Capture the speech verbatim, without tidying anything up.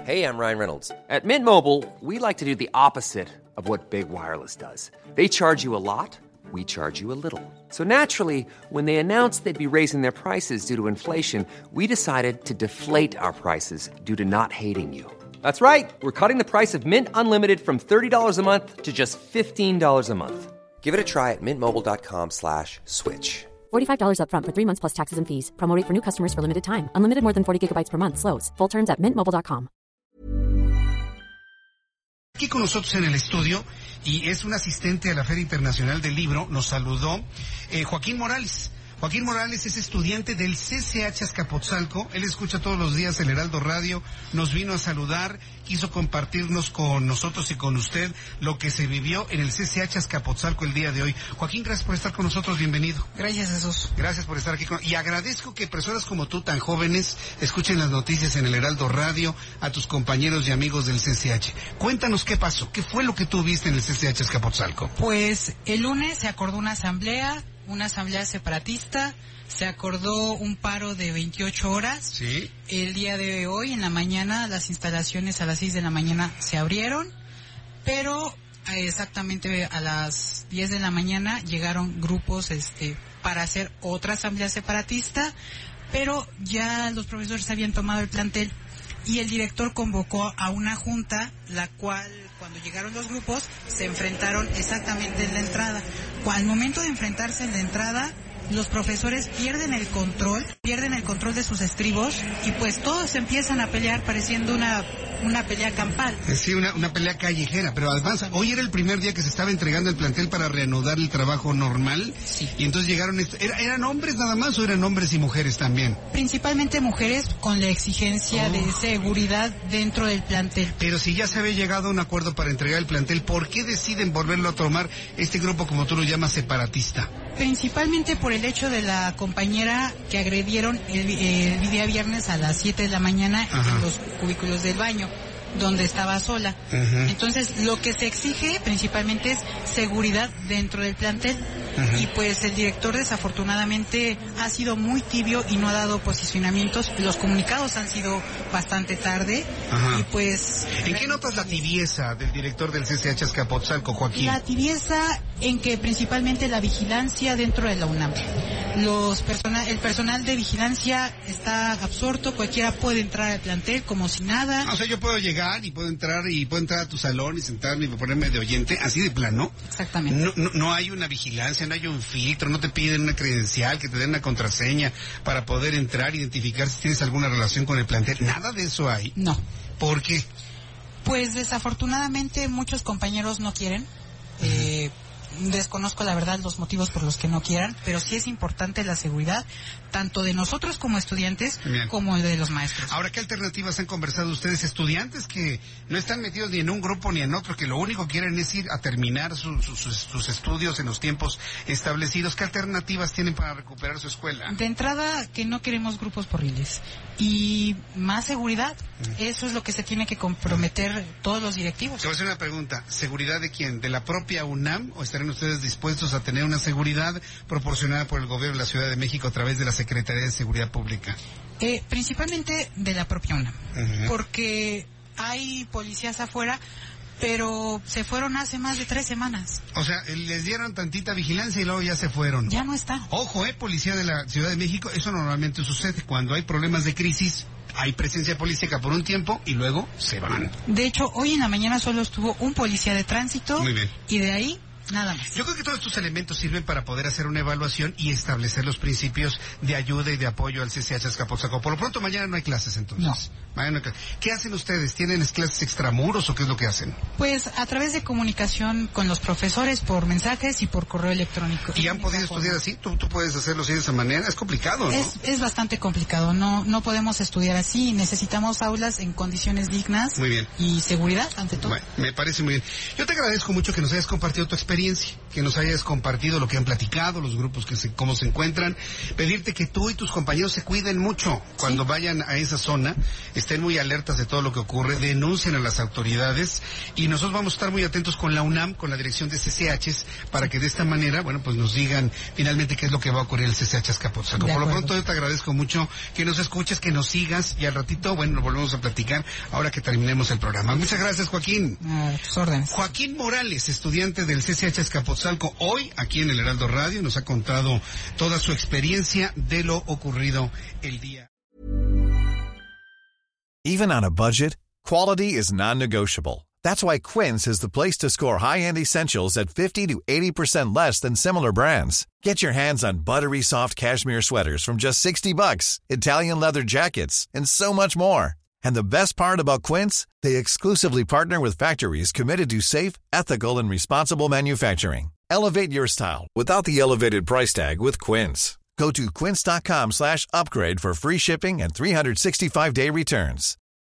Hey, I'm Ryan Reynolds. At Mint Mobile, we like to do the opposite of what Big Wireless does. They charge you a lot, we charge you a little. So naturally, when they announced they'd be raising their prices due to inflation, we decided to deflate our prices due to not hating you. That's right. We're cutting the price of Mint Unlimited from thirty dollars a month to just fifteen dollars a month. Give it a try at mintmobile.com slash switch. forty-five dollars up front for three months plus taxes and fees. Promo rate for new customers for limited time. Unlimited more than forty gigabytes per month. Slows full terms at mint mobile dot com. Aquí con nosotros en el estudio, y es un asistente a la Feria Internacional del Libro, nos saludó eh, Joaquín Morales. Joaquín Morales es estudiante del C C H Azcapotzalco. Él escucha todos los días el Heraldo Radio, nos vino a saludar, quiso compartirnos con nosotros y con usted lo que se vivió en el C C H Azcapotzalco el día de hoy. Joaquín, gracias por estar con nosotros, bienvenido. Gracias, Jesús. Gracias por estar aquí con... Y agradezco que personas como tú, tan jóvenes, escuchen las noticias en el Heraldo Radio, a tus compañeros y amigos del C C H. Cuéntanos qué pasó, qué fue lo que tú viste en el C C H Azcapotzalco. Pues el lunes se acordó una asamblea, una asamblea separatista, se acordó un paro de veintiocho horas. Sí. El día de hoy, en la mañana, las instalaciones a las seis de la mañana se abrieron, pero exactamente a las diez de la mañana llegaron grupos este para hacer otra asamblea separatista, pero ya los profesores habían tomado el plantel y el director convocó a una junta, la cual, cuando llegaron los grupos, se enfrentaron exactamente en la entrada. Al momento de enfrentarse en la entrada, los profesores pierden el control, pierden el control de sus estribos y pues todos empiezan a pelear pareciendo una una pelea campal. Sí, una, una pelea callejera, pero además, hoy era el primer día que se estaba entregando el plantel para reanudar el trabajo normal. Sí. Y entonces llegaron, est- ¿era, ¿eran hombres nada más o eran hombres y mujeres también? Principalmente mujeres con la exigencia Oh. de seguridad dentro del plantel. Pero si ya se había llegado a un acuerdo para entregar el plantel, ¿por qué deciden volverlo a tomar este grupo, como tú lo llamas, separatista? Principalmente por el hecho de la compañera que agredieron el, el día viernes a las siete de la mañana Ajá. en los cubículos del baño, donde estaba sola. Ajá. Entonces, lo que se exige principalmente es seguridad dentro del plantel. Ajá. Y pues el director desafortunadamente ha sido muy tibio y no ha dado posicionamientos. Los comunicados han sido bastante tarde. Ajá. Y pues... ¿En qué notas la tibieza del director del C C H Azcapotzalco, Joaquín? La tibieza en que principalmente la vigilancia dentro de la UNAM. Los persona, el personal de vigilancia está absorto, cualquiera puede entrar al plantel como si nada. O sea, yo puedo llegar y puedo entrar y puedo entrar a tu salón y sentarme y ponerme de oyente, así de plano. Exactamente. No, no, no hay una vigilancia, no hay un filtro, no te piden una credencial, que te den una contraseña para poder entrar, identificar si tienes alguna relación con el plantel. Nada de eso hay. No. ¿Por qué? Pues desafortunadamente muchos compañeros no quieren. Eh, desconozco la verdad los motivos por los que no quieran, pero sí es importante la seguridad, tanto de nosotros como estudiantes, Bien. como de los maestros. Ahora, ¿qué alternativas han conversado ustedes? Estudiantes que no están metidos ni en un grupo ni en otro, que lo único que quieren es ir a terminar su- su- sus, sus estudios en los tiempos establecidos. ¿Qué alternativas tienen para recuperar su escuela? De entrada, que no queremos grupos porriles. Y más seguridad. Eso es lo que se tiene que comprometer todos los directivos. Te voy a hacer una pregunta. ¿Seguridad de quién? ¿De la propia UNAM? ¿O estarán ustedes dispuestos a tener una seguridad proporcionada por el gobierno de la Ciudad de México a través de la Secretaría de Seguridad Pública? Eh, principalmente de la propia UNAM. Ujú. Porque hay policías afuera, pero se fueron hace más de tres semanas. O sea, les dieron tantita vigilancia y luego ya se fueron. Ya no está. Ojo, eh, policía de la Ciudad de México, eso normalmente sucede. Cuando hay problemas de crisis, hay presencia policíaca por un tiempo y luego se van. De hecho, hoy en la mañana solo estuvo un policía de tránsito. Muy bien. Y de ahí, nada más. Yo creo que todos estos elementos sirven para poder hacer una evaluación y establecer los principios de ayuda y de apoyo al C C H Azcapotzalco. Por lo pronto, mañana no hay clases, entonces. No. Mañana no hay clases. ¿Qué hacen ustedes? ¿Tienen clases extramuros o qué es lo que hacen? Pues a través de comunicación con los profesores por mensajes y por correo electrónico. ¿Y han podido estudiar así? ¿Tú, tú puedes hacerlo así de esa manera? Es complicado, ¿no? Es, es bastante complicado, no no podemos estudiar así, necesitamos aulas en condiciones dignas. Muy bien. Y seguridad ante todo. Bueno, me parece muy bien. Yo te agradezco mucho que nos hayas compartido tu experiencia. experiencia, que nos hayas compartido lo que han platicado, los grupos que se, cómo se encuentran, pedirte que tú y tus compañeros se cuiden mucho cuando ¿Sí? vayan a esa zona, estén muy alertas de todo lo que ocurre, denuncien a las autoridades y nosotros vamos a estar muy atentos con la UNAM, con la dirección de C C H, para que de esta manera, bueno, pues nos digan finalmente qué es lo que va a ocurrir en el C C H Azcapotzalco. Por lo pronto yo te agradezco mucho que nos escuches, que nos sigas y al ratito, bueno, nos volvemos a platicar ahora que terminemos el programa. Muchas gracias, Joaquín. A tus órdenes. Joaquín Morales, estudiante del C C H Azcapotzalco, hoy aquí en el Heraldo Radio, nos ha contado toda su experiencia de lo ocurrido el día. Even on a budget, quality is non-negotiable. That's why Quince is the place to score high-end essentials at fifty to eighty percent less than similar brands. Get your hands on buttery soft cashmere sweaters from just sixty bucks, Italian leather jackets, and so much more. And the best part about Quince, they exclusively partner with factories committed to safe, ethical, and responsible manufacturing. Elevate your style without the elevated price tag with Quince. Go to quince.com slash upgrade for free shipping and three sixty-five day returns.